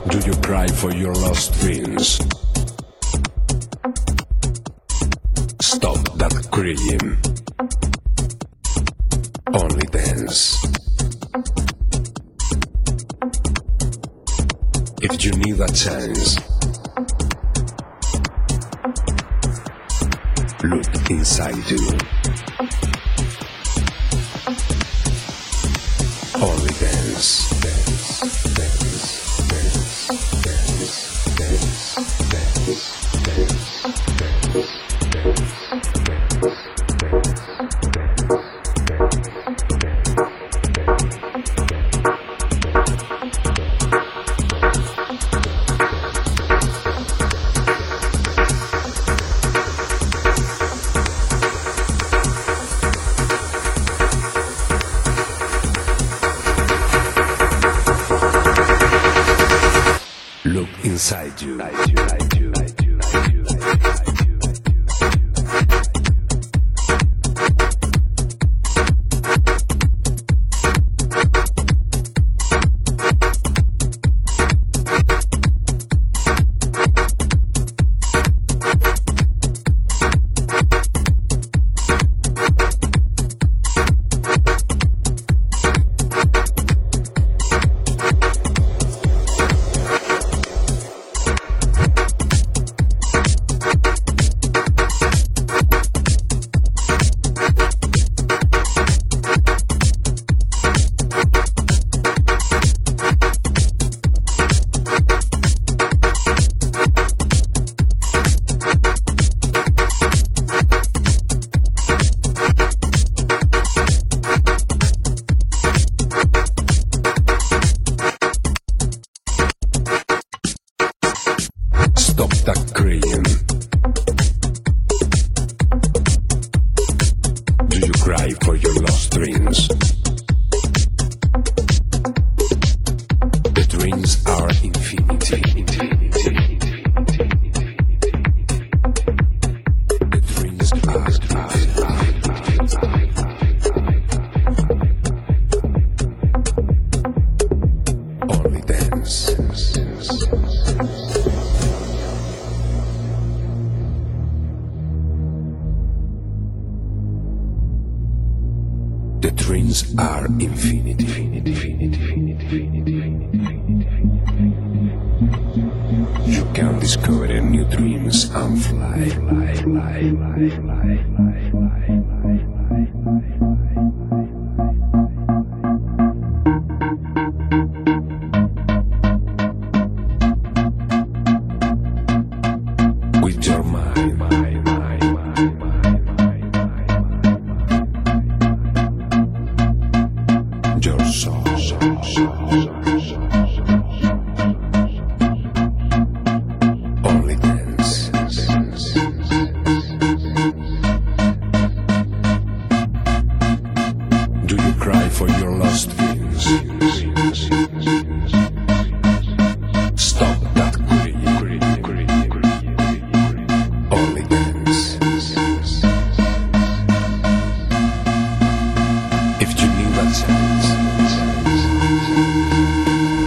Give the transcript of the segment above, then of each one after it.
Do you cry for your lost dreams? Stop that crying. Only dance. If you need a chance, look inside you. Only dance, dance, dance, dance, dance, dance, dance, dance. Look inside you. Stop that crying. Do you cry for your lost dreams? The dreams are infinity. The dreams are only dance. The dreams are infinity. You can discover new dreams and fly. With your mind. Your soul. Only dance. Do you cry for your lost dreams? Stop that crying. Only dance. If you need a chance,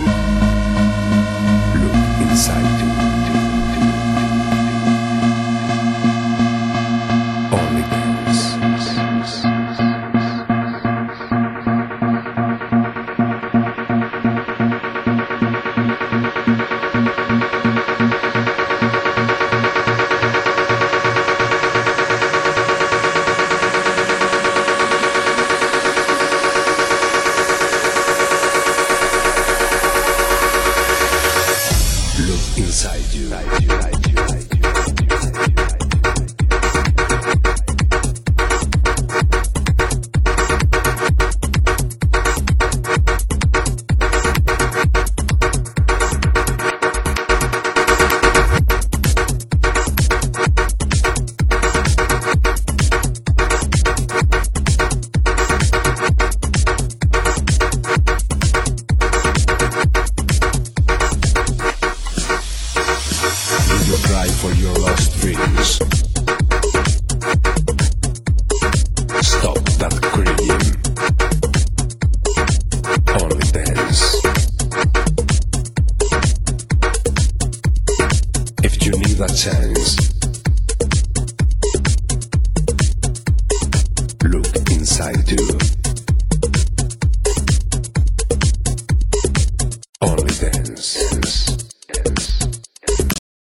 give a chance. Look inside too.